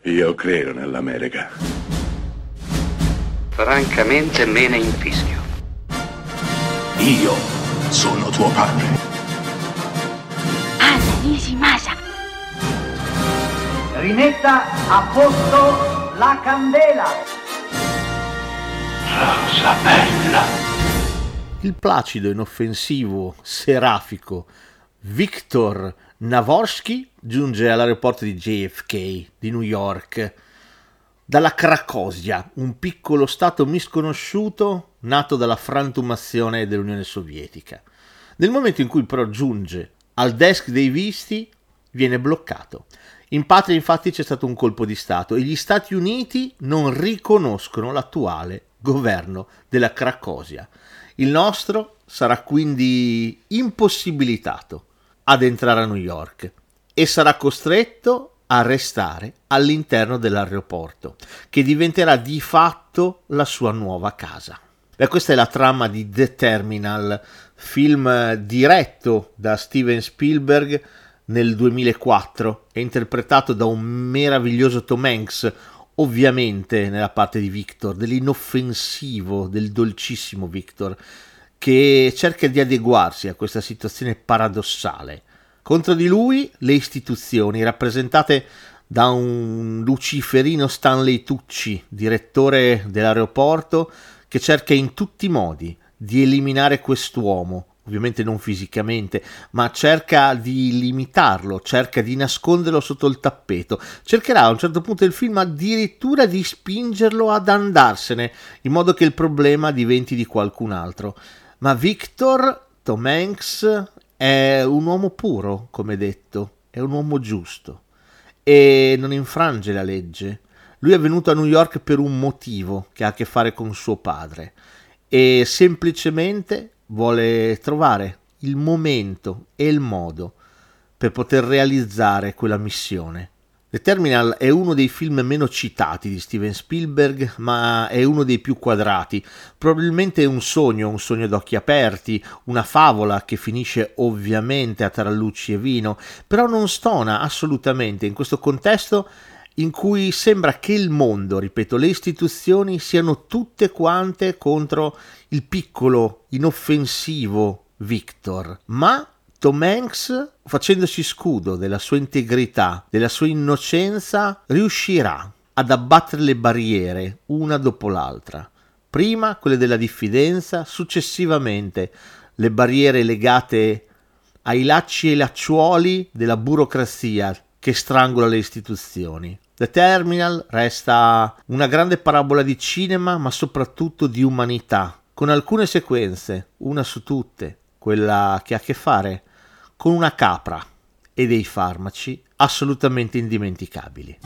Io credo nell'America. Francamente me ne infischio. Io sono tuo padre. Anna Nishimasa. Rimetta a posto la candela. Rosa bella. Il placido, inoffensivo, serafico Viktor Navorski giunge all'aeroporto di JFK di New York dalla Cracovia, un piccolo stato misconosciuto nato dalla frantumazione dell'Unione Sovietica. Nel momento in cui però giunge al desk dei visti, viene bloccato. In patria infatti c'è stato un colpo di Stato e gli Stati Uniti non riconoscono l'attuale governo della Cracovia. Il nostro sarà quindi impossibilitato ad entrare a New York e sarà costretto a restare all'interno dell'aeroporto, che diventerà di fatto la sua nuova casa. Beh, questa è la trama di The Terminal, film diretto da Steven Spielberg nel 2004 e interpretato da un meraviglioso Tom Hanks, ovviamente nella parte di Victor, dell'inoffensivo, del dolcissimo Victor, che cerca di adeguarsi a questa situazione paradossale. Contro di lui le istituzioni, rappresentate da un luciferino Stanley Tucci, direttore dell'aeroporto, che cerca in tutti i modi di eliminare quest'uomo, ovviamente non fisicamente, ma cerca di limitarlo, cerca di nasconderlo sotto il tappeto, cercherà a un certo punto del film addirittura di spingerlo ad andarsene, in modo che il problema diventi di qualcun altro. Ma Victor, Tom Hanks, è un uomo puro, come detto, è un uomo giusto e non infrange la legge. Lui è venuto a New York per un motivo che ha a che fare con suo padre e semplicemente vuole trovare il momento e il modo per poter realizzare quella missione. The Terminal è uno dei film meno citati di Steven Spielberg, ma è uno dei più quadrati. Probabilmente è un sogno d'occhi aperti, una favola che finisce ovviamente a tarallucci e vino, però non stona assolutamente in questo contesto in cui sembra che il mondo, ripeto, le istituzioni siano tutte quante contro il piccolo, inoffensivo Victor, ma Tom Hanks, facendosi scudo della sua integrità, della sua innocenza, riuscirà ad abbattere le barriere una dopo l'altra. Prima quelle della diffidenza, successivamente le barriere legate ai lacci e lacciuoli della burocrazia che strangola le istituzioni. The Terminal resta una grande parabola di cinema, ma soprattutto di umanità, con alcune sequenze, una su tutte, quella che ha a che fare con una capra e dei farmaci assolutamente indimenticabili.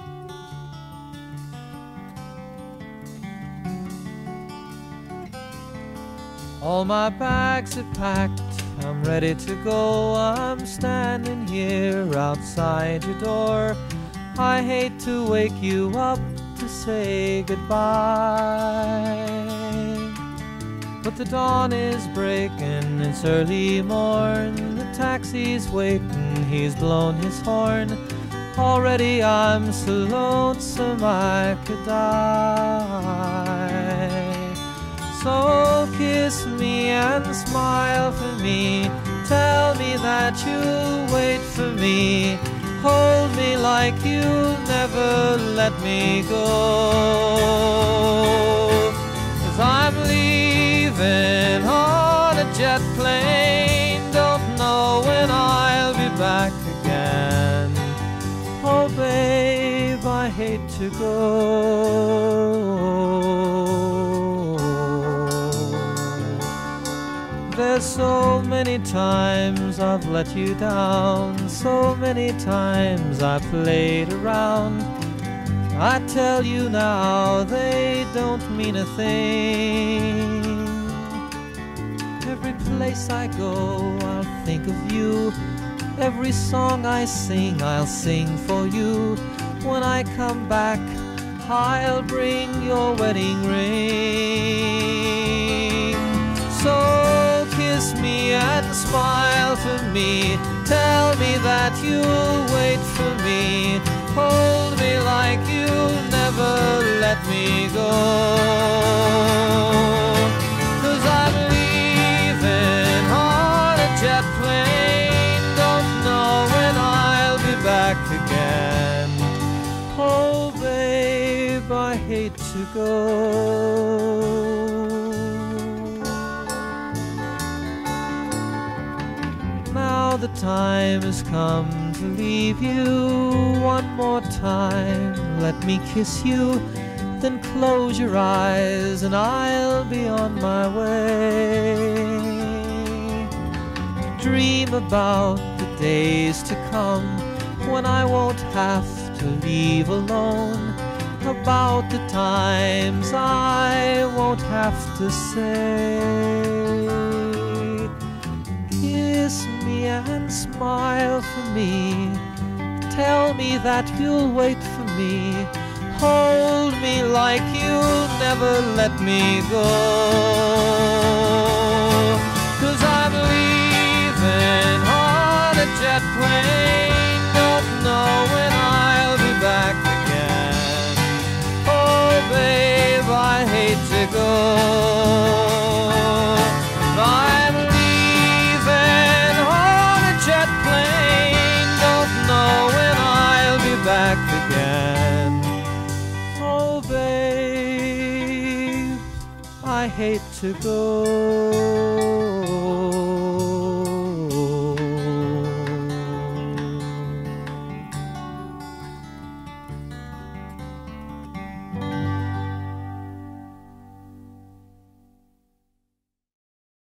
All my bags are packed, I'm ready to go. I'm standing here outside your door. I hate to wake you up to say goodbye, but the dawn is breaking, it's early morn. The taxi's waiting, he's blown his horn. Already I'm so lonesome I could die. So kiss me and smile for me, tell me that you'll wait for me. Hold me like you'll never let me go. 'Cause I'm leaving on a jet plane, don't know when I'll be back again. Oh babe, I hate to go. There's so many times I've let you down, so many times I played around. I tell you now, they don't mean a thing. Every place I go, I'll think of you. Every song I sing, I'll sing for you. When I come back, I'll bring your wedding ring. So kiss me and smile for me, tell me that you'll wait for me. Hold me like let me go. 'Cause I'm leaving on a jet plane, don't know when I'll be back again. Oh babe, I hate to go. Now the time has come to leave you. One more time, let me kiss you, then close your eyes and I'll be on my way. Dream about the days to come when I won't have to leave alone, about the times I won't have to say. Kiss me and smile for me, tell me that you'll wait for me, hold me like you'll never let me go. 'Cause I'm leaving on a jet plane, don't know when I'll be back again. Oh babe, I hate to go. I'm leaving on a jet plane, don't know when I'll be back again. Oh babe, I hate to go.